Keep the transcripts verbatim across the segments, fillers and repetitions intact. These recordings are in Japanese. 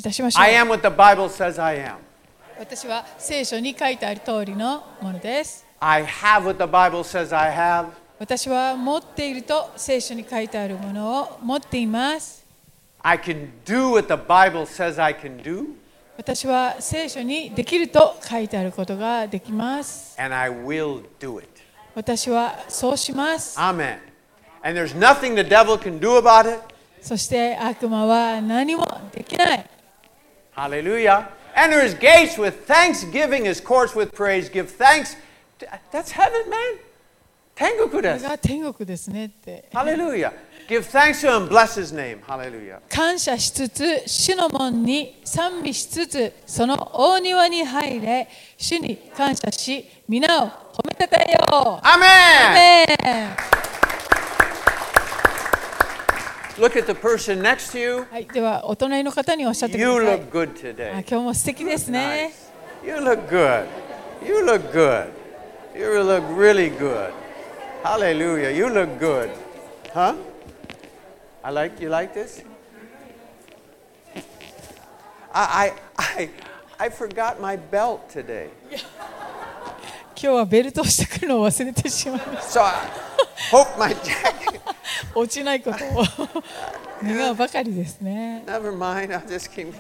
いたしましょう。 I am what the Bible says I am. 私は聖書に書いてある通りのものです。 I have what the Bible says I have. 私は持っていると聖書に書いてあるものを持っています。 I can do what the Bible says I can do. 私は聖書にできると書いてあることができます。 And I will do it. 私はそうします。 Amen. And there's nothing the devil can do about it. そして悪魔は何もできない。 Hallelujah. Enter his gates with thanksgiving, his courts with praise. Give thanks. To, that's heaven, man. 天国これです。 が天国ですねって。 Hallelujah. Give thanks to him. Bless his name. Hallelujah. 感謝しつつ、主の門に賛美しつつ、その大庭に入れ、主に感謝し、皆を褒めたたえよう。 Amen. アメン。 Look at the person next to you. はい、ではお隣の方におっしゃってく You ださい。 look good あ、 today. 今日も素敵ですね。 You look good. You look good. You look really good. Hallelujah. You look good. Huh? I like you like this? I I I I forgot my belt today. 今日はベルトをしてくるのを忘れてしまいまし So I hope my jacket. た。落ちないことを願うばかりですね。 Never mind. I'll just keep.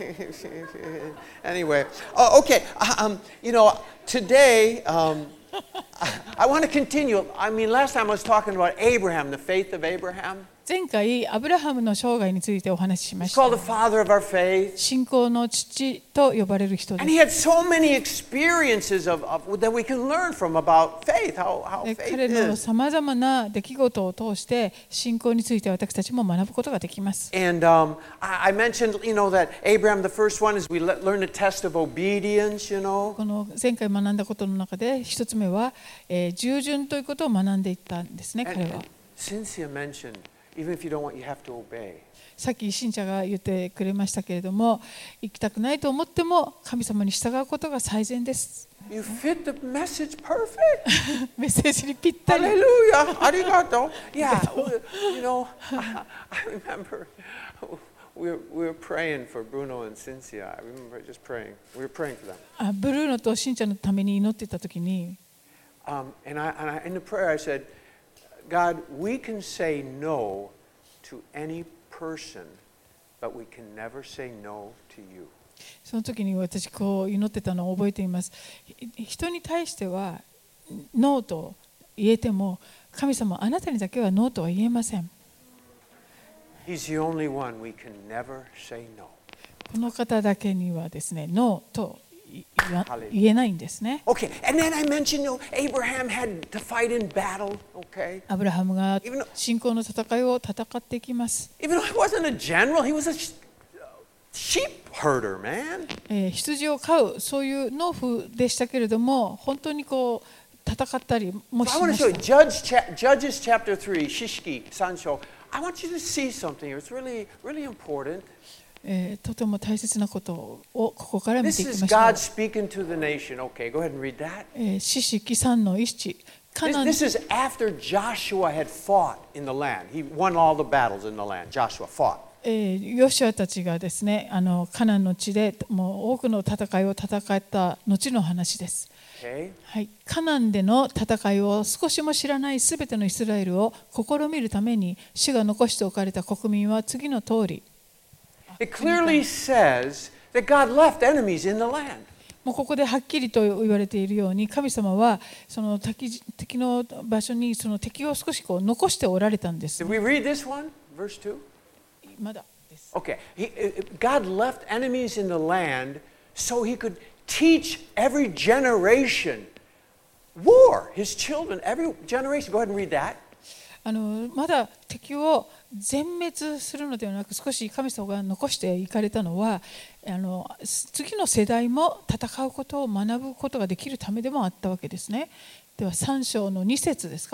Anyway. Oh, okay. Um, you know, today um, I, I want to continue. I mean, last time I was talking about Abraham, the faith of Abraham. 前回アブラハムの生涯についてお話ししま He's した。 called the father of our faith. 信仰の父と呼ばれる人で And す。 he had so many experiences of, of that we can learn from about faith, how, how で faith 彼の is. さまざまな出来事を通して信仰について私たちも学ぶことができます。 And um, I, I mentioned, you know, that Abraham, the first one is we le- learn a test of obedience, you know. この前回学んだことの中で一つ目は、えー従順ということを学んでいったんですね、 And, 彼は。 and Cynthia mentioned, even if you don't want, you have to obey. さっき信者が言ってくれましたけれども、行きたくないと思っても神様に従うことが最善です。 You fit the message perfect. メッセージにぴったり。 Hallelujah. Arigato. Yeah, you know, I, I remember we were, we were praying for Bruno and Cynthia. I remember just praying. We were praying for them. あブルーノと信者のために祈っていたときに、 Um, and I, and I, in the prayer, I said, God, we can say no to any person, but we can never say no to you. その時に私こう祈ってたのを覚えています。人に対してはノーと言えても、神様あなたにだけはノーとは言えません。 He's the only one we can never say no. この方だけにはですね、ノーと言わ言えないんですね。 Okay, and then I mentioned, you know, Abraham had to fight in battle, okay? アブラハムが信仰の戦いを戦っていきます。 Even though he wasn't a general, he was a sh- sheep herder, man. えー羊を飼うそういう農夫でしたけれども、本当にこう戦ったりも So し I ま want to show you した。 Judge cha- Judges chapter three, Shishki, Sancho. I want you to see something here. It's really, really important. えーとても大切なことをここから見てい This き is ましょう。 God speaking to the nation. Okay, go ahead and read that. えー四式三の一カ This, ナン this is after Joshua had fought in the land. He won all the battles in the land. Joshua fought. えーヨシュアたちがですね、あのカナンの地でもう多くの戦いを戦った後の話です。 Okay? はい、カナンでの戦いを少しも知らないすべてのイスラエルを試みるために主が残しておかれた国民は次の通り。 It clearly says that God left enemies in the land. もうここではっきりと言われているように、神様はその敵敵の場所にその敵を少しこう残しておられたんです Did。we read this one? Verse two? まだです。 Okay. He, God left enemies in the land so he could teach every generation war. His children, every generation. Go ahead and read that. あのまだ敵を全滅するのではなく、少し神様が残していかれたのは、あの次の世代も戦うことを学ぶことができるためでもあったわけですね。ではさん章のに節ですか、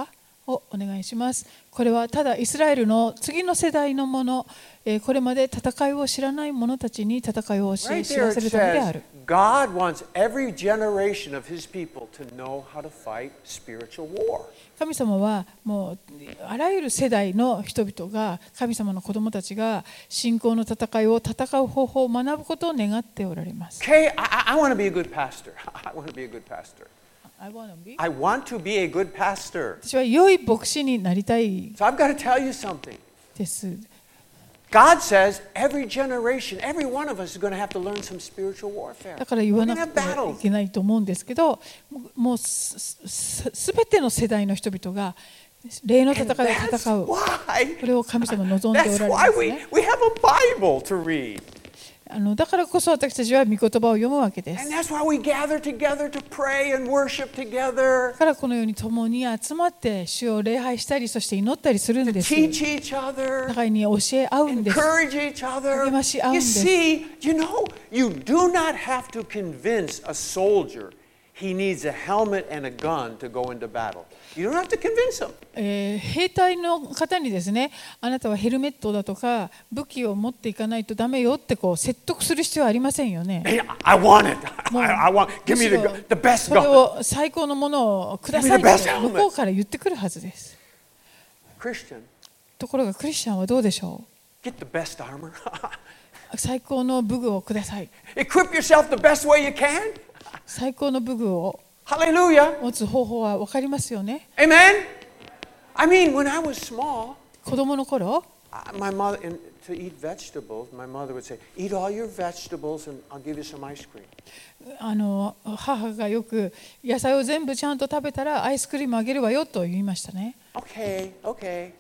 をお願いします。これはただイスラエルの次の世代のもの、これまで戦いを知らない者たちに戦いを教え知らせるためである。 God wants every generation of His people to know how to fight spiritual war. 神様はもうあらゆる世代の人々が、神様の子供たちが信仰の戦いを戦う方法を学ぶことを願っておられます。 Okay, I, I want to be a good pastor. I want to be a good pastor. I want to be. I want to be a good pastor. 私は良い牧師になりたい So I've got to tell you something. です。 God says every generation, every one of us is going to have to learn some spiritual warfare. だから言わなくてはいけないと思うんですけど、もうすすべての世代の人々が霊の戦いを戦う。これを神様望んでおられますね。 We have a Bible to read. あのだからこそ私たちは御言葉を読むわけです。 And that's why we gather together to pray and worship together. だからこのように共に集まって主を礼拝したり、そして祈ったりするんです。 Teach each other. 互いに教え合うんです。 Encourage each other. 励まし合うん You です。 see, you know, you do not have to convince a soldier he needs a helmet and a gun to go into battle. You don't have to convince him. えー、兵隊の方にですね、あなたはヘルメットだとか武器を持っていかないとダメよってこう説得する必要はありませんよね。 Hey, I want it. I, I want. Give me the, the best それ gun. を最高のものをくださいって向こうから言ってくるはずです。 Christian, ところがクリスチャンはどうでしょう。 get the best armor. 最高の武具をください。 Equip yourself the best way you can. 最高の武具を Hallelujah. 持つ方法は分かりますよね。 Amen. I mean, when I was small, 子供の頃、 my mother, and to eat vegetables, my mother would say, "Eat all your vegetables, and I'll give you some ice cream." あの母がよく野菜を全部ちゃんと食べたらアイスクリームあげるわよと言いましたね。 Okay, okay.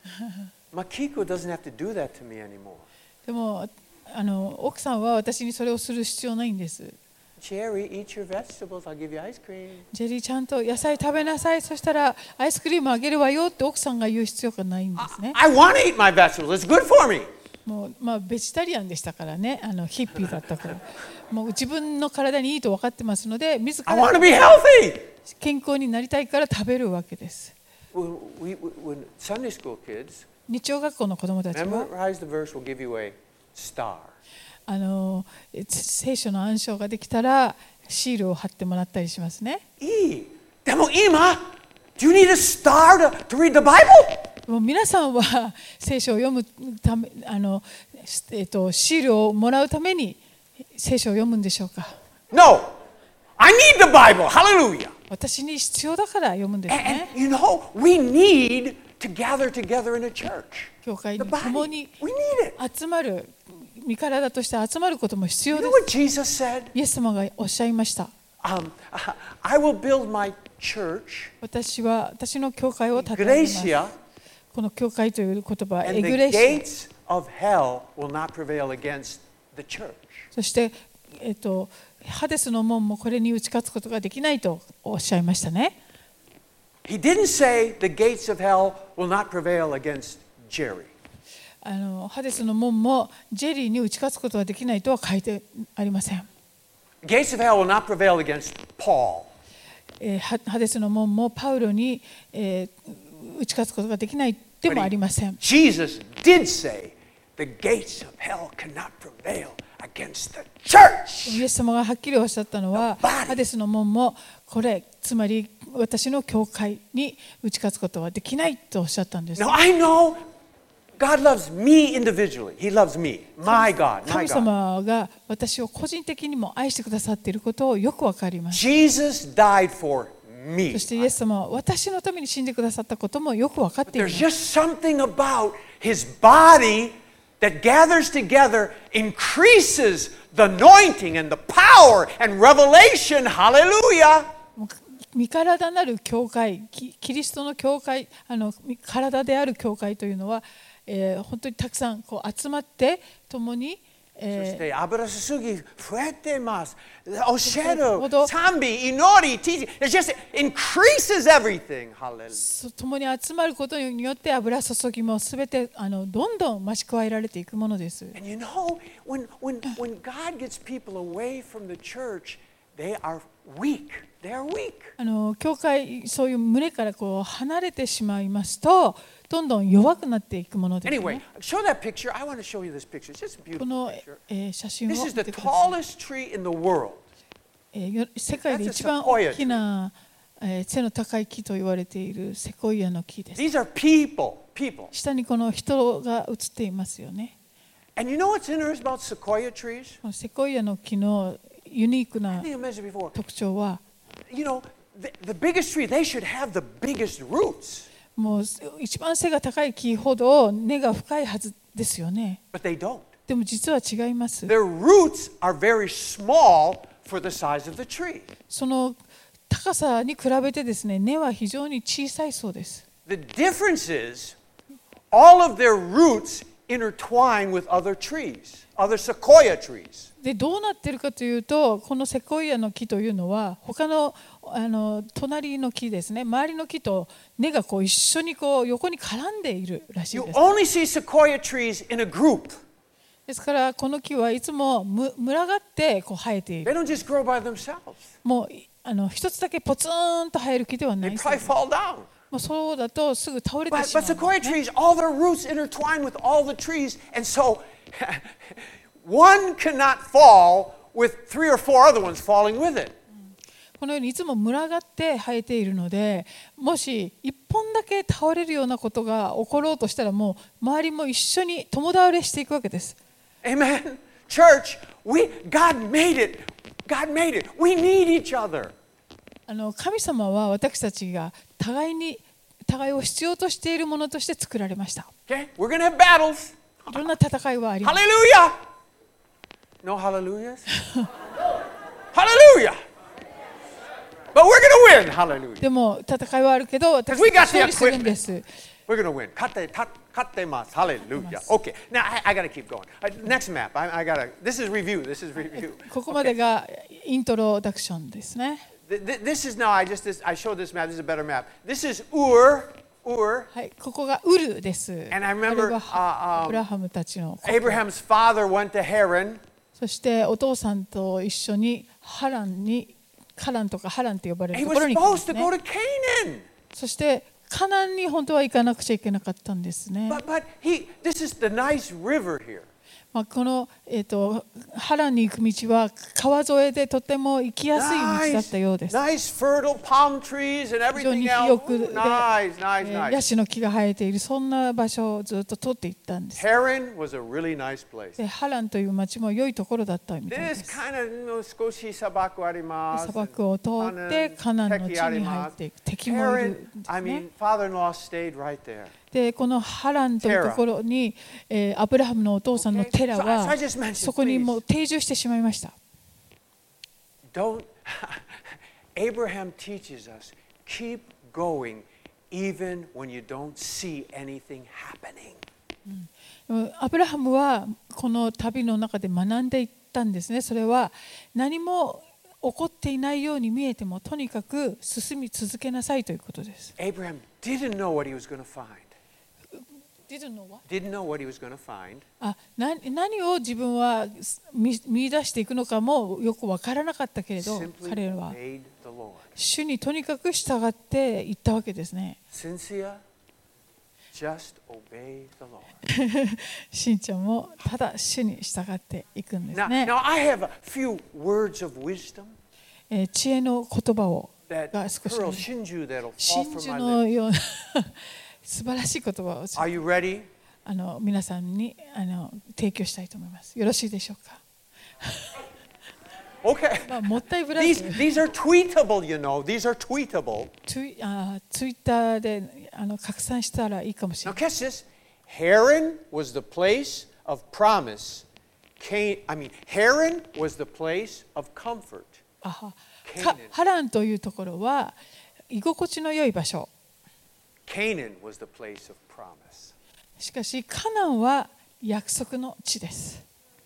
Makiko doesn't have to do that to me anymore. でもあの奥さんは私にそれをする必要ないんです。 Jerry, eat your vegetables. I'll give you ice cream. ジェリーちゃんと野菜食べなさい。そしたらアイスクリームあげるわよって奥さんが言う必要がないんですね。 I want to eat my vegetables. It's good for me. もうまあベジタリアンでしたからね、あのヒッピーだったから、もう自分の体にいいと分かってますので、自 I ら want to be healthy. 健康になりたいから食べるわけです。 When, we, when Sunday school kids 日曜学校の子供たちは memorize the verse, we'll give you a star. あの聖書の暗唱ができたらシールを貼ってもらったりしますね。 いい。でも今、do you need a star to, to read the Bible? もう皆さんは聖書を読むため、あの、えっと、シールをもらうために聖書を読むんでしょうか。 No. I need the Bible. Hallelujah. 私に必要だから読むんです And, ね。 and you know, we need to gather together in a church. 教会 The に body. 共に We need it. 集まる、身体として集まることも必要 You で know す。 what Jesus said? イエス様がおっしゃいました。 Um, I will build my church, 私は私の教会を建て上げます。 Iglesia, この教会という言葉は and エ the グレシア。 gates of hell will not prevail against the church. そして、えっと、ハデスの門もこれに打ち勝つことができないとおっしゃいましたね。 He didn't say the gates of hell will not prevail against Jerry. あのハデスの門もジェリーに打ち勝つことができないとは書いてありません。 Gates of hell will not prevail against Paul. えー、ハハデスの門もパウロに、えー、打ち勝つことができないでもありません。 Jesus did say the gates of hell cannot prevail against the church. イエス様がはっきりおっしゃったのは、ハデスの門もこれ、つまり私の教会に打ち勝つことはできないとおっしゃったんです。 Now I know God loves me individually. He loves me, my God, 神 my God. 様が私を個人的にも愛してくださっていることをよくわかります。 Jesus died for me. そしてイエス様は私のために死んでくださったこともよくわかっていま There's す。 just something about his body that gathers together, increases the anointing and the power and revelation. Hallelujah. 身体なる教会、キキリストの教会、あの体である教会というのは、えー、本当にたくさんこう集まって共に、えー、 そして油注ぎ増えてます。教える、賛美、祈り、teaching. It just increases everything. Hallelujah. 共に集まることによって油注ぎもすべてあのどんどん増し加えられていくものです。 And you know, when, when, when God gets people away from the church, they are weak. They are weak. あの教会、そういう群れからこう離れてしまいますと、どんどん弱くなっていくものです、ね。 Anyway, show that picture. I want to show you this picture. It's just a beautiful この、 picture. えー、写真を This 見 is て the ください。 tallest tree in the world. えー、世界で一番大きな、えー、背の高い木と言われているセコイアの木です。 These are people. People. 下にこの人が写っていますよね。 And you know what's interesting about sequoia trees? このセコイアの木のユニーク I な think I mentioned before. 特徴は、 You know, the, the biggest tree, they should have the biggest roots. もう一番背が高い木ほど根が深いはずですよね。 But they don't. でも実は違います。 Their roots are very small for the size of the tree. その高さに比べてですね、根は非常に小さいそうです。 The difference is all of their roots intertwine with other trees, other sequoia trees. でどうなっているかというと、このセコイアの木というのは他のあの隣の木ですね、周りの木と根がこう一緒にこう横に絡んでいるらしい You です。 only see sequoia trees in a group. ですからこの木はいつもむ群がってこう生えてい They る。 don't just grow by themselves. もうあの一つだけポツンと生える木ではな They いそうで probably す。 fall down. もうそうだとすぐ倒れて But, しま but う、 sequoia ね。 trees, all their roots intertwine with all the trees, and so one cannot fall with three or four other ones falling with it. このようにいつも群がって生えているので、もし一本だけ倒れるようなことが起ころうとしたら、もう周りも一緒に共倒れしていくわけです。 Amen. Church, we God made it. God made it. We need each other. あの神様は私たちが互いに互いを必要としているものとして作られました。 Okay? We're going to have battles. いろんな戦いはあります。 Hallelujah. No hallelujahs? Hallelujah. But we're going to win. Hallelujah. でも戦いはあるけど、私 We got たち the は勝利するんで equipment. す。 We're going to win. 勝ってた勝ってます Hallelujah. Okay. Now I, I got to keep going. Uh, next map. I, I got to. This is review. This is review. ここまでがイントロダクションですね。 Th- th- This is now. I just this, I showed this map. This is a better map. This is Ur. Ur. はい、ここがウルです。 And I これ remember は uh, アブ um, ラハムたちの故郷。 Abraham's father went to Haran. そしてお父さんと一緒にハランに、カランとかハランと呼ばれる He と was ころに来ま supposed す to ね。 go to Canaan. そしてカナンに本当は行かなくちゃいけなかったんですね。 But but he. This is the nice river here. まあ、この、えー、とハランに行く道は川沿いでとても行きやすい道だったようです。 Nice fertile palm trees and 非常に everything 肥 else. 沃で、 Nice, え nice, ー nice. ヤシの木が生えているそんな場所をずっと通っていったんです。 Haran was a really nice place. でハランという町も良いところだったみたいで This す。 kind of, you know, 少し砂漠あります。 砂漠を通ってカナンの地に入っていく敵もいる Haran, んです I ね。 mean, father-in-law stayed right there. でこのハランというところに、えーアブラハムのお父さんのテラ Okay. So, so は I just mentioned, そこにもう please, 定住してしまいました。 don't. Abraham teaches us keep going even when you don't see anything happening. アブラハムはこの旅の中で学んでいったんですね。それは何も起こっていないように見えてもとにかく進み続けなさいということです。 Abraham didn't know what he was going to find. Didn't know what? Didn't know what he was going to find. あ、な何を自分は見見出していくのかもよく分からなかったけれど、 Simply 彼らは obeyed the Lord. 主にとにかく従っていったわけですね。 Cynthia, just obey the Lord. しんちゃんもただ主に従っていくんです Now, ね。 now I have a few words of wisdom えー知恵の言葉を that が少し pearl shinju that'll fall 真 from 珠 my の lips. ような素晴らしい言葉を Are you ready? あの皆さんにあの提供したいと思います。よろしいでしょうか。 Okay. まあ、もったいぶら These ず these are tweetable, you know. These are tweetable. ツイあツイッターであの拡散したらいいかもしれ Now ない。 catch this. Haran was the place of promise. Can, I mean, Haran was the place of comfort. あはか Canaan. ハランというところは居心地の良い場所。 Canaan was the place of promise. しかしカナンは約束の地です。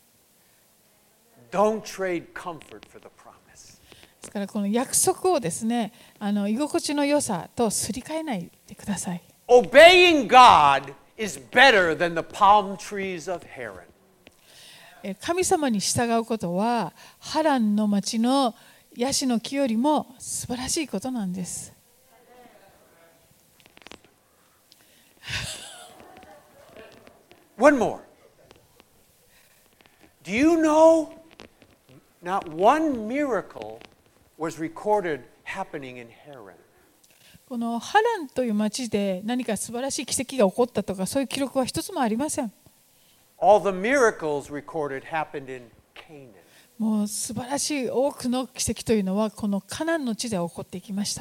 Don't trade comfort for the promise. ですからこの約束をですね、あの居心地の良さとすり替えないでください。 Obeying God is better than the palm trees of Haran. え神様に従うことはハランの町のヤシの木よりも素晴らしいことなんです。 One more. Do you know not one miracle was recorded happening in Haran? このハランという町で何か素晴らしい奇跡が起こったとかそういう記録は一つもありません。 All the miracles recorded happened in Canaan. もう素晴らしい多くの奇跡というのはこのカナンの地で起こっていきました。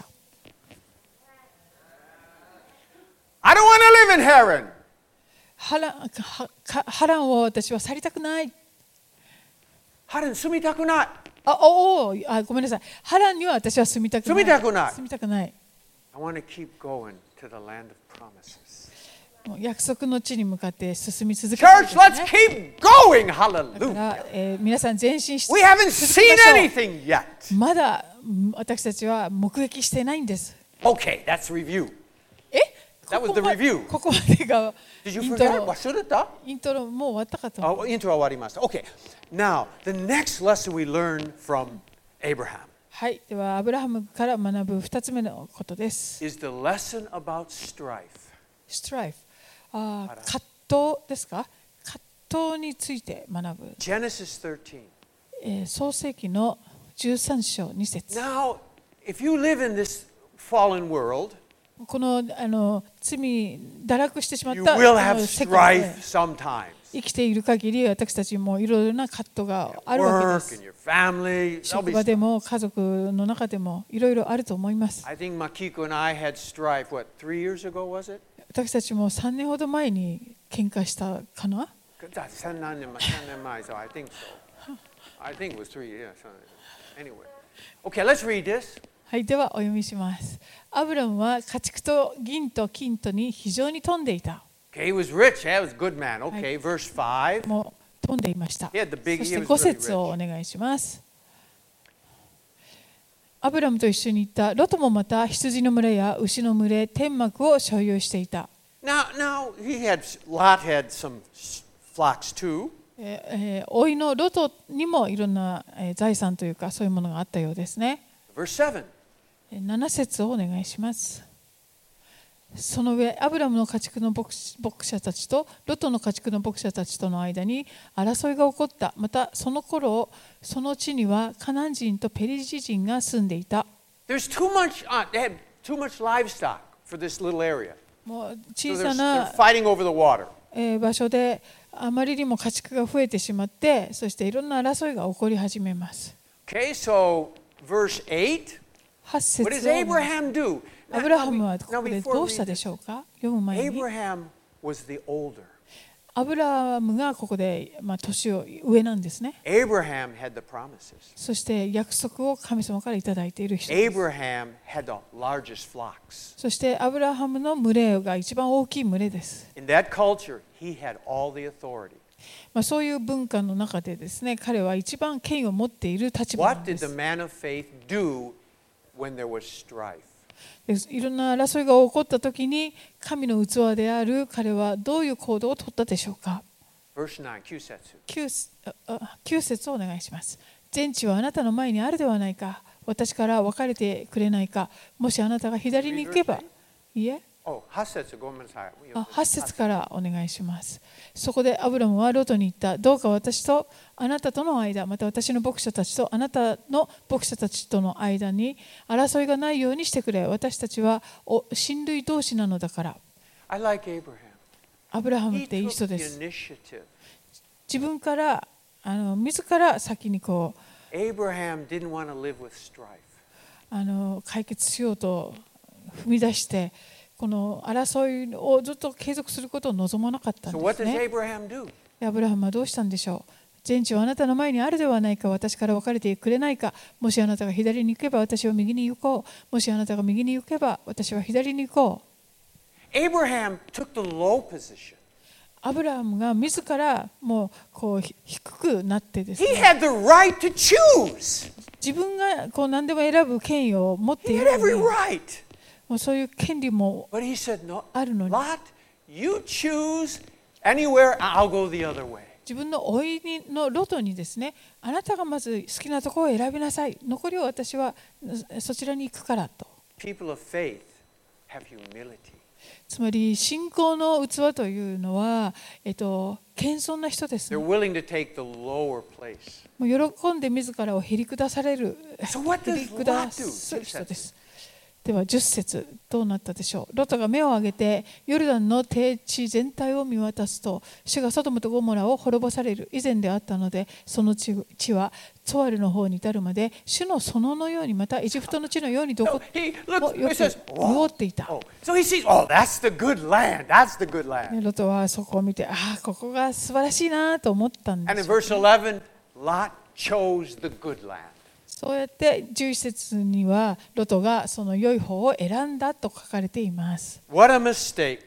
I don't want to live in Haran. ハラン、はハランを私は去りたくない。 ハラン住みたくない。 あ、おお、あ、ごめんなさい。ハランには私は住みたくない。 住みたくない。 住みたくない。 I want to keep going to the land of promises. もう約束の地に向かって進み続けているんです Church, ね。 let's keep going. だか Hallelujah. ら、えー皆さん前進して We haven't 進み seen ましょう。 anything yet. まだうん私たちは目撃していないんです。 Okay, that's review. え That was こ the こま review. ここまでが Did you イント forget? ロ忘れた？ イントロもう終わったかと思う。 Oh, intro 終わりました。Okay. Now, the next lesson we learn from Abraham はい、ではアブラハムから学ぶ二つ目のことです。 is the lesson about strife. ストライフ、ああらー葛藤ですか？葛藤について学ぶ。 Genesis thirteen. えー創世記のじゅうさん章に節。 Now, if you live in this fallen world, このあの罪堕落してしまっ you た will あ have の世界で strife sometimes. 生きている限り私たちもいろいろな葛藤があるわけで Work す and。your family. There'll 職 be 場で strife. も家族の中でもいろいろあると思います。 I think Makiko and I had strife, what, three years ago, was it? 私たちもさんねんほど前に喧嘩したかな。 三年前、三年前, so I think so. I think it was three years. Anyway. Okay, let's read this. はい、ではお読みします。アブラムは家畜と銀と金とに非常に富んでいた。 Okay, he was rich. Yeah, he was a good man. Okay, verse five. もう富んでいました。 He had the big, そし he て was ご really 節を rich. お願いします。アブラムと一緒に行ったロトもまた羊の群れや牛の群れ、天幕を所有していた。 Now, now he had Lot had some flocks too. えーえー、甥のロトにもいろんな、えー財産というかそういうものがあったようですね。 Verse seven. なな節をお願いします。その上、アブラムの家畜の牧者たちとロトの家畜の牧者たちとの間に争いが起こった。またその頃、その地にはカナン人とペリジ人が住んでいた。 There's too much, uh, they had too much livestock for this little area. もう So 小 they're, さ they're な fighting over the water. えー場所であまりにも家畜が増えてしまって、そしていろんな争いが起こり始めます。 Okay, so verse eight. はち What 節 does をお願いし Abraham do? ア Now, ブラハ now ム be- はこ now こで before ど we うした read で this, しょうか？読む前に Abraham was the older. アブラハムがここで、まあ、年を上なんですね。 Abraham had the promises. そして約束を神様からいただいている人です。 Abraham had the largest flocks. そしてアブラハムの群れが一番大きい群れです。 In that culture, he had all the authority. まあ、そういう文化の中でですね、彼は一番権威を持っている立場な What んで did the す。 man of faith do when there was strife? でいろんな争いが起こったときに、神の器である彼はどういう行動を取ったでしょうか。 Verse nine, Kyusetsu. きゅうきゅう節をお願いします。全地はあなたの前にあるではないか。私から別れてくれないか。もしあなたが左に行けば。いいえ。 Oh, はち節、ごめんなさい。 あ、はち節からお願いします。そこでアブラムはロトに言った。どうか私とあなたとの間、また私の牧者たちとあなたの牧者たちとの間に争いがないようにしてくれ。私たちはお親類同士なのだから。 I like Abraham. アブラハム He っていい took 人 the です。 initiative. 自分からあの自ら先にこう Abraham didn't want to live with strife. あの解決しようと踏み出して。この争いをずっと継続することを望まなかったん So で what す does ね。 Abraham do? アブラハムはどうしたんでしょう。全地はあなたの前にあるではないか。私から別れてくれないか。もしあなたが左に行けば私は右に行こう。もしあなたが右に行けば私は左に行こう。 Abraham took the low position. アブラハムが自らもうこう低くなってです He ね、 had the right to choose. 自分がこう何でも選ぶ権威を持って He い had る every のに、 right. もうそういう権利も But he said, no, あるのに、 Lot, you choose anywhere, I'll go the other way. 自分の甥いのロトにですね、あなたがまず好きなところを選びなさい。残りを私はそちらに行くからと。 People of faith have humility. つまり信仰の器というのは、えっと、謙遜な人です、ね。 They're willing to take the lower place. もう喜んで自らをへり下される、 So what へ does り下 Lot す do? 人です。ではじゅっ節どうなったでしょう。ロトが目を上げてヨルダンの低地全体を見渡すと、主がソドムとゴモラを滅ぼされる以前であったので、その地はツォアルの方に至るまで主の園のように、またエジプトの地のようにどこ No, he も looks, よ he く says, 潤 "Oh, っていた。 oh." So he sees, oh, that's the good land. That's the good ね land. ロトはそこを見て、ああ、ここが素晴らしいなと思ったん And で in すよ。 verse eleven, Lot chose the good land. そうやってじゅういち節にはロトがその良い方を選んだと書かれています。 What a mistake.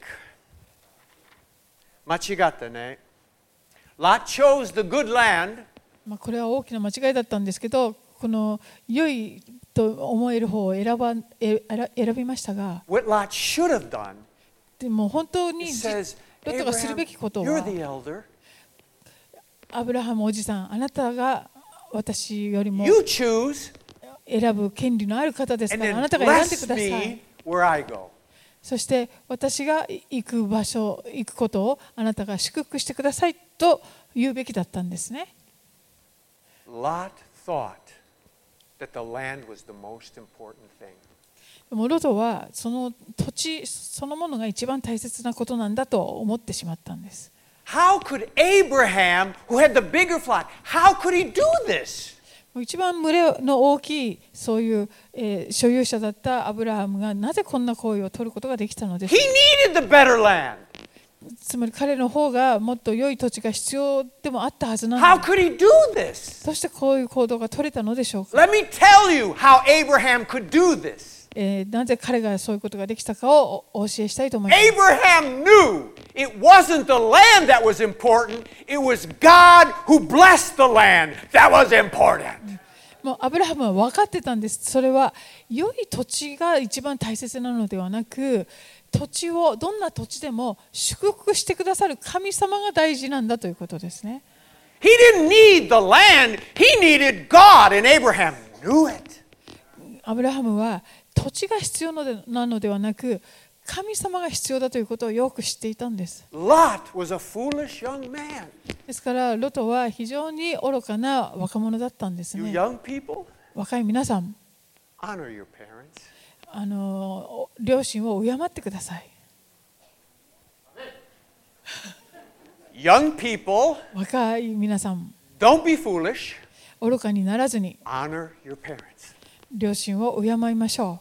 間違ったね。Lot chose the good land. まあこれは大きな間違いだったんですけど、この良いと思える方を選ばえ選びましたが、 What Lot should have done. でも本当に It says, ロトがする Abraham, べきことは、 you're the elder. アブラハムおじさん、あなたが私よりも You choose 選ぶ権利のある方です and から、あ then なたが選んで bless ください。 me where I go. そして私が行く場所、行くことをあなたが祝福してくださいと言うべきだったんですね。 Lot thought that the land was the most important thing. でもロトはその土地そのものが一番大切なことなんだと思ってしまったんです。 How could Abraham, who had the bigger flock, how could he do this? 一番群れの大きいそういう、えー所有者だったアブラハムがなぜこんな行為を取ることができたのでし He ょう needed the better land. つまり彼の方がもっと良い土地が必要でもあったはずな How のに、 could he do this? そしてこういう行動が取れたのでしょうか。 Let me tell you how Abraham could do this. えーなぜ彼がそういうことができたかをお教えしたいと思います。 Abraham knew it wasn't the land that was important, it was God who blessed the land that was important. もうアブラハムは分かってたんです。それは良い土地が一番大切なのではなく、土地をどんな土地でも祝福してくださる神様が大事なんだということですね。 He didn't need the land, he needed God, and Abraham knew it. アブラハムは土地が必要なのではなく、神様が必要だということをよく知っていたんです。 Lot was a foolish young man. ですからロトは非常に愚かな若者だったんです You ね。 young people, 若い皆さん、 honor your parents. あの両親を敬ってください。 Young people, 若い皆さん、 don't be foolish. 愚かにならずに Honor your parents. 両親を敬いましょ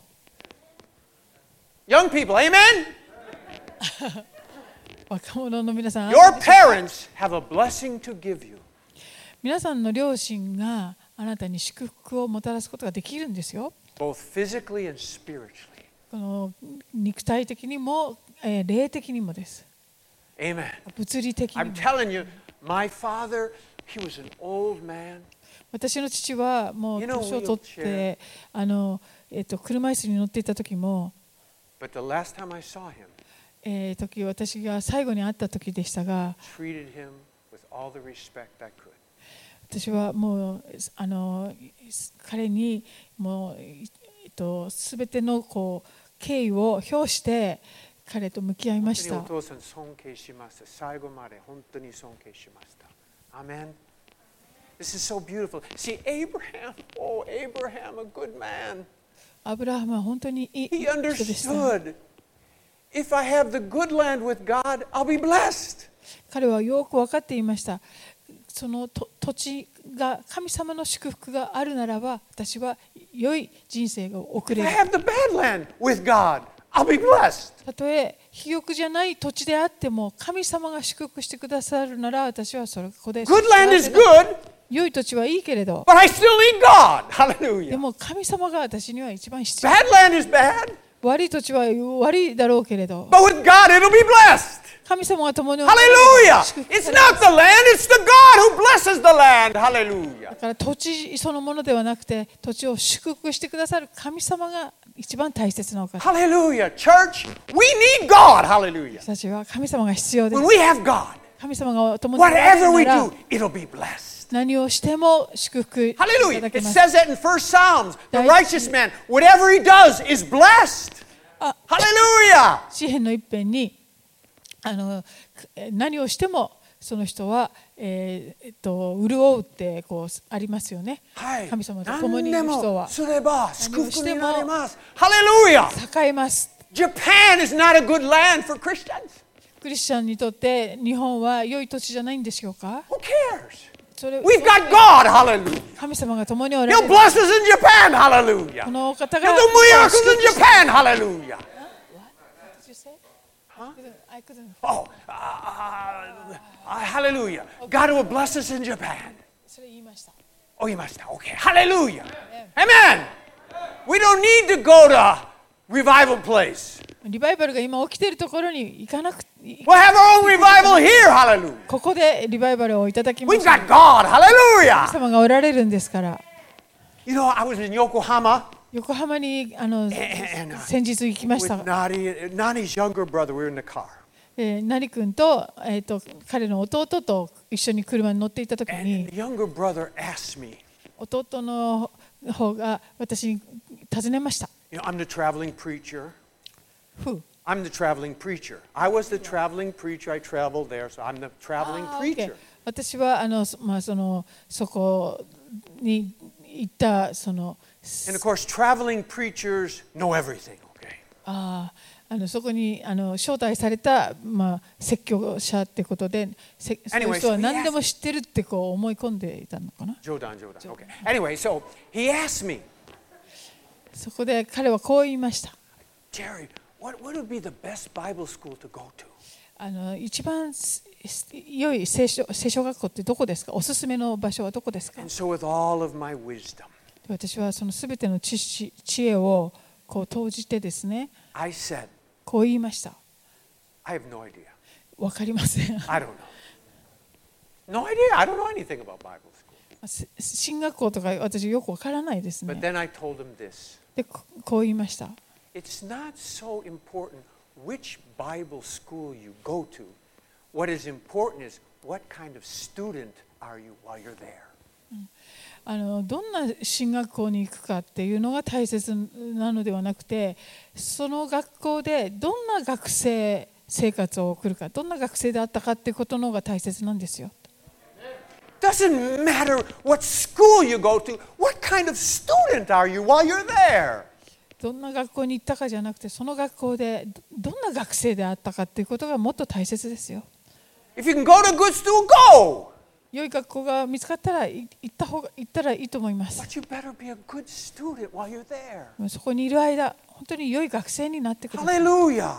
Young people, amen? う。若者の皆さん、 Your parents have a blessing to give you. 皆さんの両親があなたに祝福をもたらすことができるんですよ。 Both physically and spiritually. この肉体的にも、えー霊的にもです。 Amen. 物理的に I'm も。 telling you, my father, he was an old man. 私の父はもう You know, 年を取っ wheelchair. てあの、えっと、車椅子に乗っていた時も、 But the last time I saw him, えー時私が最後に会った時でしたが、 treated him with all the respect I could. 私はもうあの彼にもう、えっと、全てのこう敬意を表して彼と向き合いました。 本当にお父さん尊敬しました。最後まで本当に尊敬しました。Amen. This is so beautiful. See, Abraham, oh, Abraham, a good man. アブラハムは本当にいい He 人でした。 understood. If I have the good land with God, I'll be blessed. 彼はよく分かっていました。そのと土地が神様の祝福があるならば、私は良い人生が送 If れ I る。 have the bad land with God, I'll be blessed. たとえ肥沃じゃない土地であっても、神様が祝福してくださるなら、私はそこで Good land is 幸せだ good, 良い土地はいいけれど、 but I still need God. で Hallelujah. も神様が私には一番必要。 Bad land is bad, 悪い土地は悪いだろうけれど、 but with God, it'll be blessed. 神様が共に Hallelujah. 祝福 It's されます not the land, it's the God who blesses the land. Hallelujah. だから土地そのものではなくて、土地を祝福してくださる神様が一番大切なお方。 Hallelujah. Church, we need God. Hallelujah. 私たちは神様が必要で When す。 we have God, 神様が共におられる Whatever な we ら do, it'll be blessed. 何をしても祝福いた Hallelujah. だけ It ます。 says that in First Psalms. The Dai- righteous man, whatever he does is blessed. Ah. Hallelujah. 詩篇の一編にあの何をしてもその人は、えーえっと、潤うってこうありますよね。 はい。 神様と共にいる人はすれば祝福になります。Hallelujah. 栄えます。 Japan is not a good land for Christians. クリスチャンにとって日本は良い土地じゃないんでしょうか。 Who cares? それ We've got God. Hallelujah. 神様が共におられ He'll る。 bless us in Japan. Hallelujah. このお方 He'll が do miracles in Japan. Hallelujah. I couldn't. Oh, uh, uh, uh, hallelujah. God will bless us in Japan. それ言いました。 Oh, you must. Okay. Hallelujah. Amen. We don't need to go to a revival place. リバイバルが今起きているところに行かなくて、 We'll have our own revival here. Hallelujah. ここでリバイバルをいただきま We've す。 got God. Hallelujah. 神様がおられるんですから。 You know, I was in Yokohama 横浜にあの and, and, uh, 先日行きまし with た。 Nani, Nani's younger brother. We were in the car. えー、ナリ君と、えー、と彼の弟と一緒に車に乗っていたとき And に the younger brother asked me, 弟の方が私に尋ねました。 you know, I'm the traveling preacher. Who? I'm the traveling preacher. I was the traveling preacher. I traveled there, so I'm the traveling あー preacher. OK 私はあの、まあ、そのそこに行ったその And of course, traveling preachers know everything, okay? ああのそこにあの招待された、まあ、説教者ってことで、せそういう人は何でも知ってるってこう思い込んでいたのかな。 Jodan, Jodan. Okay. Anyway, so he asked me, そこで彼はこう言いました。 Jerry, what, what would be the best Bible school to go to? あの一番す良い聖書、聖書学校ってどこですか？おすすめの場所はどこですか？ And so, with all of my wisdom, 私はそのすべての知識、知恵をこう投じてですね、 I said, こう言いました。 I have no idea. わかりません。 I don't know. No idea. I don't know anything about Bible school. せ進学校とか私よくわからないです But ね。 then I told him this. で、ここう言いました。 It's not so important which Bible school you go to. What is important is what kind of student are you while you're there. あのどんな進学校に行くかっていうのが大切なのではなくて、その学校でどんな学生生活を送るか、どんな学生であったかっていうことの方が大切なんですよ。 Doesn't matter what school you go to. What kind of student are you while you're there? どんな学校に行ったかじゃなくて、その学校でどんな学生であったかっていうことがもっと大切ですよ。 If you can go to a good school, go. 良い学校が見つかったらい行った方が行ったらいいと思います。 But you better be a good student while you're there. そこにいる間、本当に良い学生になってください。 Hallelujah.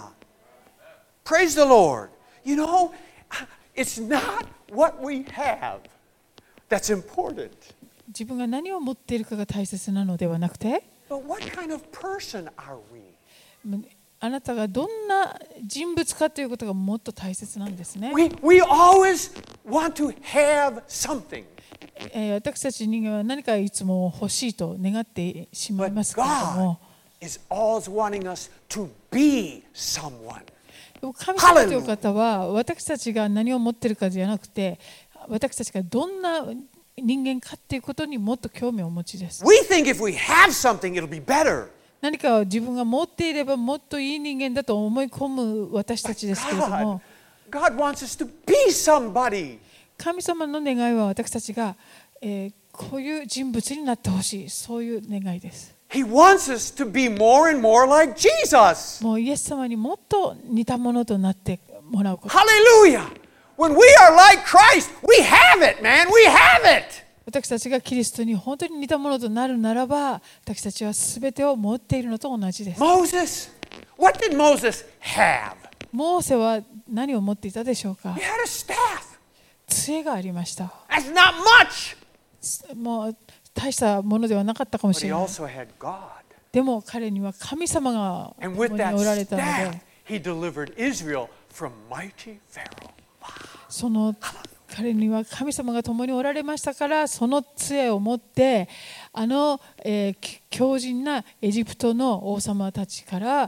Praise the Lord. You know, it's not what we have that's important, 自分が何を持っているかが大切なのではなくて、 but what kind of person are we? あなたがどんな人物かということがもっと大切なんですね。 We, we always want to have something, えー私たち人間は何かいつも欲しいと願ってしまい but ますけれど God も、 is always wanting us to be someone. でも神様という方は私たちが何を持っているかじゃなくて、私たちがどんな人間かということにもっと興味をお持ちです。 We think if we have something, it'll be better. 何かを自分が持っていればもっといい人間だと思い込む私たちですけれど God, も、 God wants us to be somebody. 神様の願いは私たちが、えーこういう人物になってほしい、そういう願いです。 He wants us to be more and more like Jesus. もうイエス様にもっと似たものとなってもらうこと。 Hallelujah. When we are like Christ, we have it, man. We have it. 私たちがキリストに本当に似たものとなるならば、私たちはすべてを持っているのと同じです。 Moses, what did Moses have? モーセは何を持っていたでしょうか He。had a staff. 杖がありました。 That's not much. もう大したものではなかったかも But し he れない。 also had God. でも彼には神様が And 共 with に that おられたの staff, で、 he delivered Israel from mighty Pharaoh. その彼には神様が共におられましたから、その杖を持ってあの、えー、強靭なエジプトの王様たちから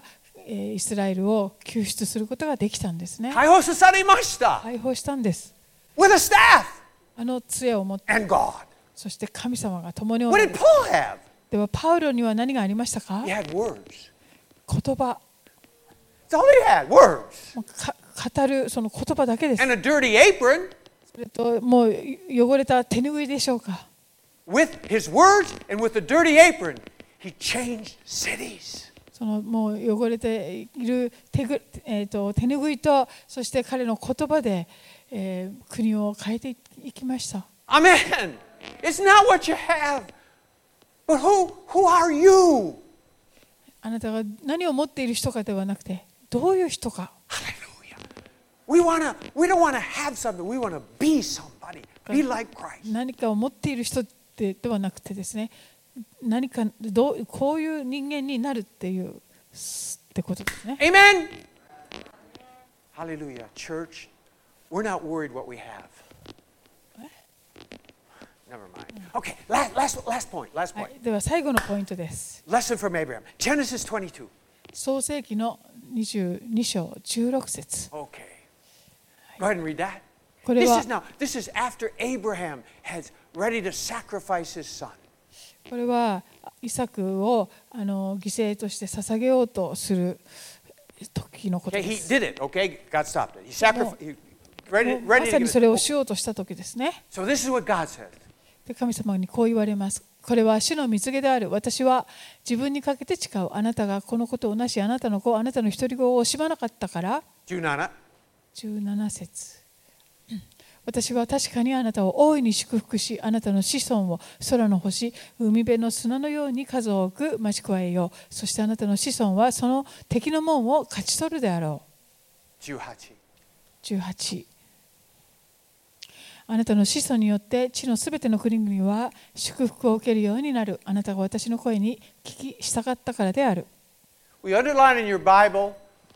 イスラエルを救出することができたんですね。 解放されました。 解放したんです。 With a staff あの杖を持って、 and God. そして神様が共にお What ら did れる。 Paul have? ではパウロには何がありましたか？ He had words. 言葉。 That's all he had, words. もうか語るその言葉だけです。 And a dirty apron. それともう汚れた手拭いでしょうか。 With his words and with the dirty apron, he changed cities. そのもう汚れている 手, ぐ、えー、と手拭いと、そして彼の言葉で、えー、国を変えていきました。 Amen. It's not what you have, but who, who are you? あなたが何を持っている人かではなくて、どういう人か。 Hallelujah. We wanna, we don't want to have something. We want to be somebody. Be like Christ. 何かを持っている人ってではなくてですね、何かどうこういう人間になるっていうってことですね。 Amen. Hallelujah. Church, we're not worried what we have. Never mind. Okay, last, last, last point. Last は point. い、では最後のポイントです。 Lesson from Abraham. Genesis twenty-two. 創世記のにじゅうに章じゅうろく節。 Okay. Go ahead and read that. これ This は is now. This is after Abraham has ready to sacrifice his son. これはイサクをあの犠牲として捧げようとする時のこと Okay, で he す。 did it. Okay, God stopped it. He sacrificed. He ready, もうま ready さ to に give それを it. しようとした時ですね。 So this is what God says. で神様にこう言われます。これは主の蜜げである。私は自分にかけて誓う。あなたがこのことをなし、あなたの子、あなたの一人子を惜しまなかったから。 じゅうなな. じゅうなな節。私は確かにあなたを大いに祝福し、あなたの子孫を空の星、海辺の砂のように数多く増し加えよう。そしてあなたの子孫はその敵の門を勝ち取るであろう。 じゅうはち. じゅうはち。あなたの子孫によって地のすべての国々は祝福を受けるようになる。あなたが私の声に聞き従ったからである。 We underline in your Bible,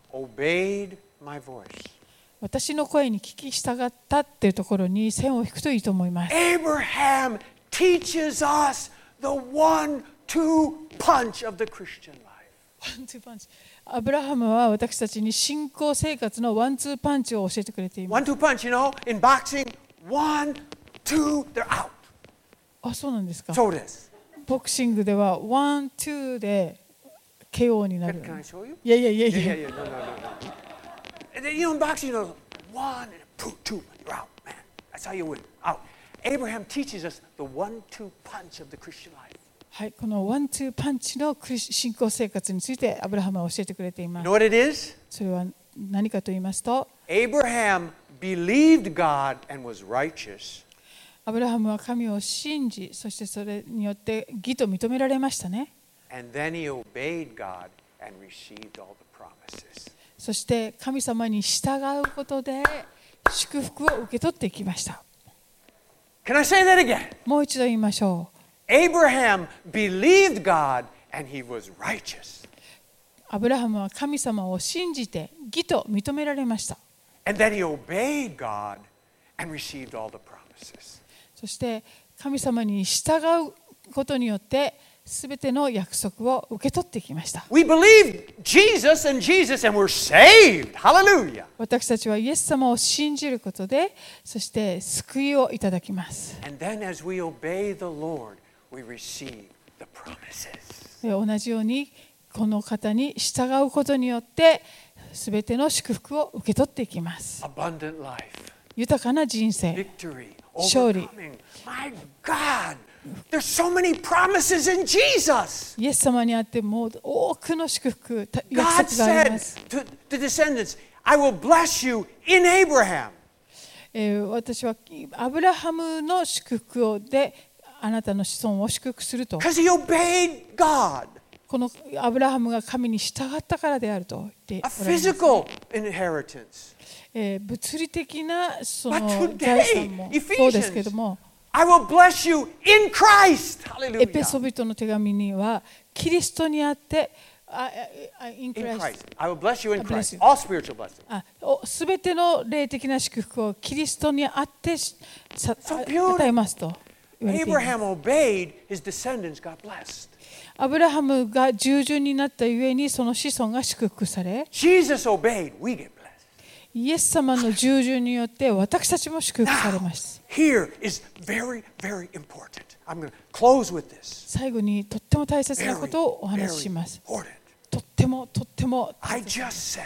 obeyed my voice. 私の声に聞き従ったっていうところに線を引くといいと思います。 Abraham teaches us the one-two punch of the Christian life. アブラハムは私たちに信仰生活のワンツーパンチを教えてくれています。 One-two punch, you know, in boxing, one, two, they're out. あ、そうなんですか。 So it is. ボクシングではワン、ツーで ケーオー になる。 Can I show you? いやいやいやい Yeah, や。 yeah, yeah. No, no, no, no. And then, you know, in boxing, you know, one, two, two, you're out, man. That's how you win. Out. Abraham teaches us the one-two punch of the Christian life. はい、このワンツーパンチのクリス信仰生活についてアブラハムは教えてくれていま You す。 know what it is? それは何かと言いますと、 Abraham believed God and was righteous. アブラハムは神を信じ、そしてそれによって義と認められましたね。 And then he obeyed God and received all the promises. そして神様に従うことで祝福を受け取っていきました。 Can I say that again? もう一度言いましょう。 Abraham believed God and he was righteous. アブラハムは神様を信じて義と認められました。 And then he obeyed God and received all the promises. そして神様に従うことによってすべての約束を受け取ってきました。 We believe Jesus and Jesus and we're saved. Hallelujah. 私たちはイエス様を信じることで、そして救いをいただきます。 And then as we obey the Lord, we receive the promises. で同じようにこの方に従うことによってすべての祝福を受け取っていきます。 Abundant life. 豊かな人生、 Victory. 勝利。 Overcoming. My God. There's so many promises in Jesus. イエス様にあってもう多くの祝福、約 God 束があり said ます。 to the descendants, I will bless you in Abraham. えー私はアブラハムの祝福であなたの子孫を祝福すると。 Because he obeyed God. このアブラハムが神に従ったからであると言って A おられます。 physical inheritance. えー物理的なその But 財 today, 産もそうですけど Ephesians, も、 I will bless you in Christ. エペソ Hallelujah. ビトの手紙にはキリストにあってああ in In Christ Christ. I will bless you in I bless Christ. you. All spiritual blessings. あすべての霊的な祝福をキリストにあってさ So beautiful. 与えますと。 言われています。 Abraham obeyed, his descendants got blessed. アブラハムが従順になったゆえにその子孫が祝福され、 Jesus obeyed, we get blessed. イエス様の従順によって私たちも祝福され Now, ます。 here is very, very important. I'm going to close with this. 最後にとっても大切な Very, ことをお話し very します。 important. とってもとっても I just said,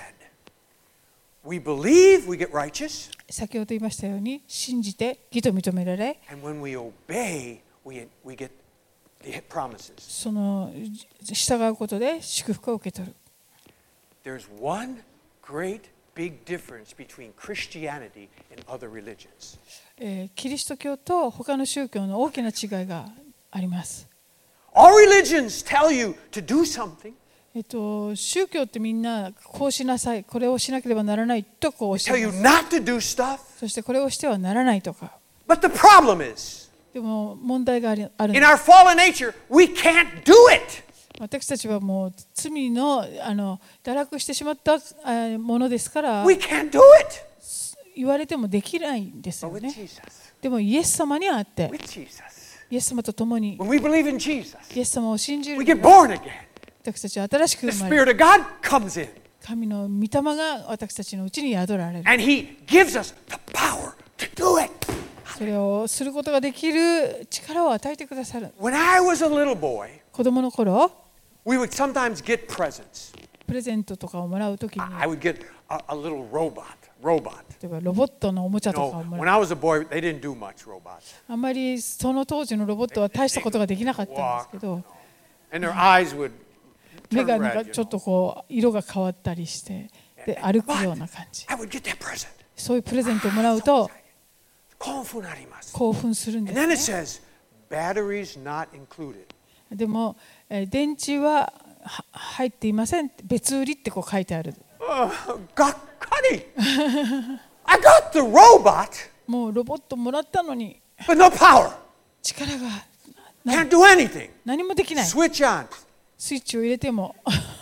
we believe, we get righteous, 先ほど言いましたように信じて義と認められ、 and when we obey, we, we get the promises. その従うことで祝福を受け取る。 There's one great big difference between Christianity and other religions. えーキリスト教と他の宗教の大きな違いがあります。 All religions tell you to do something, えっと、宗教ってみんなこうしなさい、これをしなければならないとこう教 tell え you ます。 not to do stuff. そしてこれをしてはならないとか。 But the problem is, でも問題がありあるん in です。 our fallen nature, we can't do it. 私たちはもう罪のあの堕落してしまったあものですから、 We can't do it. 言われてもできないんです But よ with ね。 Jesus, でもイエス様にあって、 with Jesus, イエス様と共に when we believe in Jesus, イエス様を信じ we る get born again. 私たちは新しく The 生まれ、 Spirit of God comes in, 神の御霊が私たちのうちに宿られる。 and He gives us the power to do it. それをすることができる力を与えてくださる。 When I was a little boy, 子供の頃、 we would sometimes get presents. プレゼントとかをもらうときに、 I would get a, a little robot, robot. 例えばロボットのおもちゃ You とか know, をも when らう。 I was a boy, they didn't do much robots. あんまりその当時のロボットは大したことができなかったんですけど、 And their eyes would 目 turn がなんか red, you ちょっ know. とこう色が変わったりして、で歩くような感じ。 I would get that present. そういうプレゼントをもらうと興奮あります。 興奮するんで And then it すね。 says, batteries not included. でも、えー電池はは入っていませんって、別売りってこう書いてある。 Uh, がっかり I got the robot, もうロボットもらったのに but no power. 力が Can't do anything. 何もできない。 Switch on. スイッチを入れても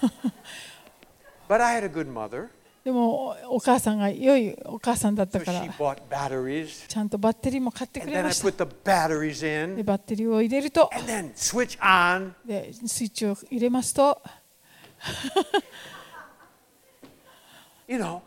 But I had a good mother, でもお母さんが良いお母さんだった so から she bought batteries. ちゃんとバッテリーも買ってく And れ then I ました。 put the batteries で in, バッテリーを入れると and then switch on. でスイッチを入れますと You know,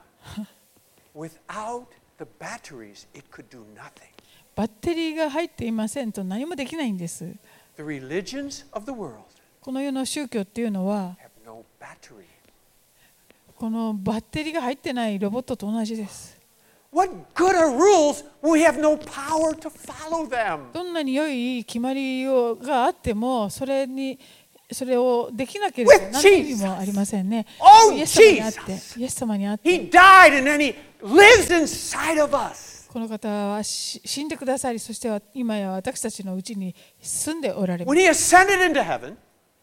without the batteries, it could do nothing. バッテリーが入っていませんと何もできないんです。 The religions of the world この世の宗教っていうのは have no battery. このバッテリーが入ってないロボットと同じです。 What good are rules when we have no power to follow them? どんなに良い決まりをがあってもそれにそれをできなければ With 何の意味もありませんね。 Oh, イエス様にあって Jesus. イエス様にあって He died and then he lives inside of us. この方はし死んでくださり、そしては今や私たちのうちに住んでおられま When he ascended into heaven,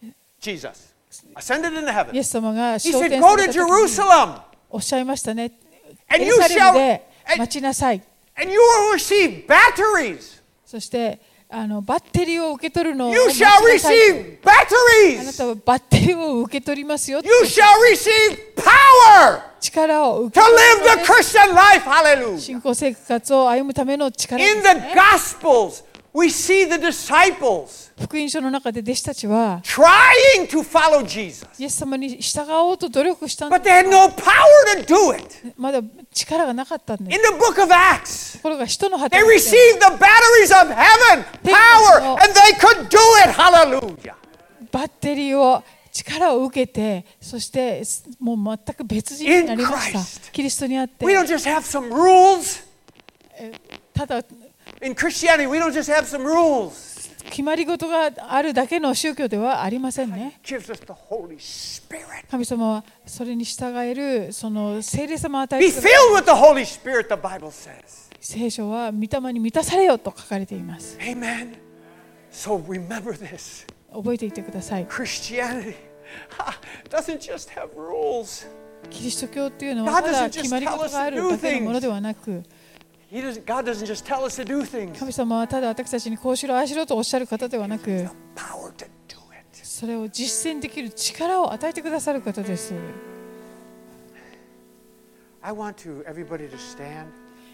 Jesus ascended into す。イ heaven. エス様が He 昇 said, 天 Go さ to れた時に Jerusalem おっしゃいましたね。 and エ you ルサレム shall で and, 待ちなさい。 and you will receive batteries. そしてあのバッテリーを受け取るのを You 待ち shall なさい。 receive あなあな batteries. たはバッテリーを受け取りますよ。 You shall receive power 力を受 to け取 live る the Christian life. Hallelujah. 信仰生活を歩むための力です In ね the Gospels, we see the disciples 福音書の中で弟子たちは trying to follow Jesus, イエス様に従おうと努力したん but で they had no power to do it. まだ力がなかったんで In す。 the book of Acts, ところが人の they 働きで received the batteries of heaven, power, and they could do it. Hallelujah. バッテリーを力を受けて、そしてもう全く別人になりまし In た。 Christ. キリストにあって We don't just have some rules. ただ In Christianity, we don't just have some rules. 決まり事があるだけの宗教ではありませんね。 It gives us the Holy Spirit. 神様はそれに従えるその聖霊様を与え Be てください。 filled with the Holy Spirit, the Bible says. 聖書は御霊に満たされよと書かれています。 Amen. So remember this. 覚えていてください。 Christianity doesn't just have rules. キリスト教っていうのは God ただ doesn't just 決まり事があるだけのものではなく、 He doesn't, God doesn't just tell us to do things. 神様はただ私たちにこうしろああしろとおっしゃる方ではなく、 The power to do it. それを実践できる力を与えてくださる方です。 I want to everybody to stand.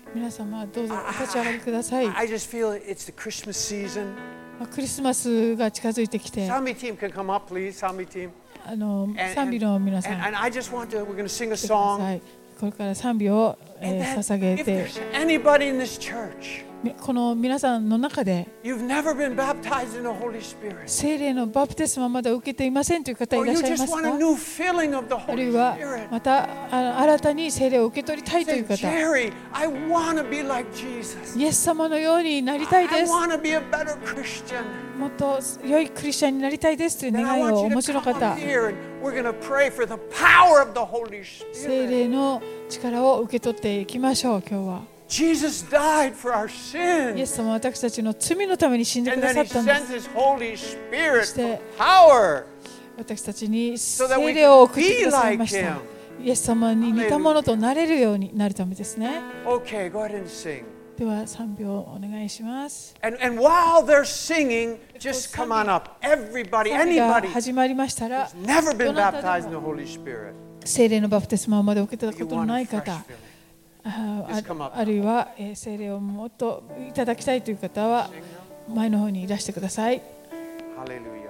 皆様どうぞお立ち上がりください。 I just feel it's the Christmas season. クリスマスが近づいてきて、 Zombie team can come up, please. Zombie team. あの And, 賛美の皆さん and, and I just want to, we're going to sing a 来てくださ song. い。これから賛美を、え And ー then, 捧げ if て、 there's anybody in this church, この皆さんの中で you've never been baptized in the Holy Spirit, 聖霊のバプテスマまだ受けていませんという方い or らっ you しゃいま just す want a か？ new filling of the あるい Holy は Spirit, またあ新たに聖霊を受け取りたいとい say, う方、 Jerry, I want to be like Jesus. イエス様のようになりたい I です。 want to be a better Christian. もっと良いクリスチャンになりたいですという Then I 願いを want お you 持 to ちの come 方、 up here and we're going to pray for the power of the Holy 聖 Spirit. 霊の力を受け取っていきましょう。今日は Jesus died for our イエ sins. ス様は私たちの罪のために死んでく And だ then さ he ったんです。 sent his Holy Spirit for Stay. power. 私たちに So that we 聖霊を送 can って be ください like ました。 him. イエス様に似たものとなれるようになるためですね。 Okay, go ahead and sing. では賛美をお願いします。 And, and while they're singing, just come on up. Everybody, 賛美が anybody 始まりましたら、 who's never been どなたでも baptized in the Holy Spirit. 聖霊のバプテスマをまだ受けたこ You との want な a い fresh 方、 filling. あ Just come あ up. あるいは、えー聖霊をもっといただきたいという方は前の方にいらしてください。 Hallelujah.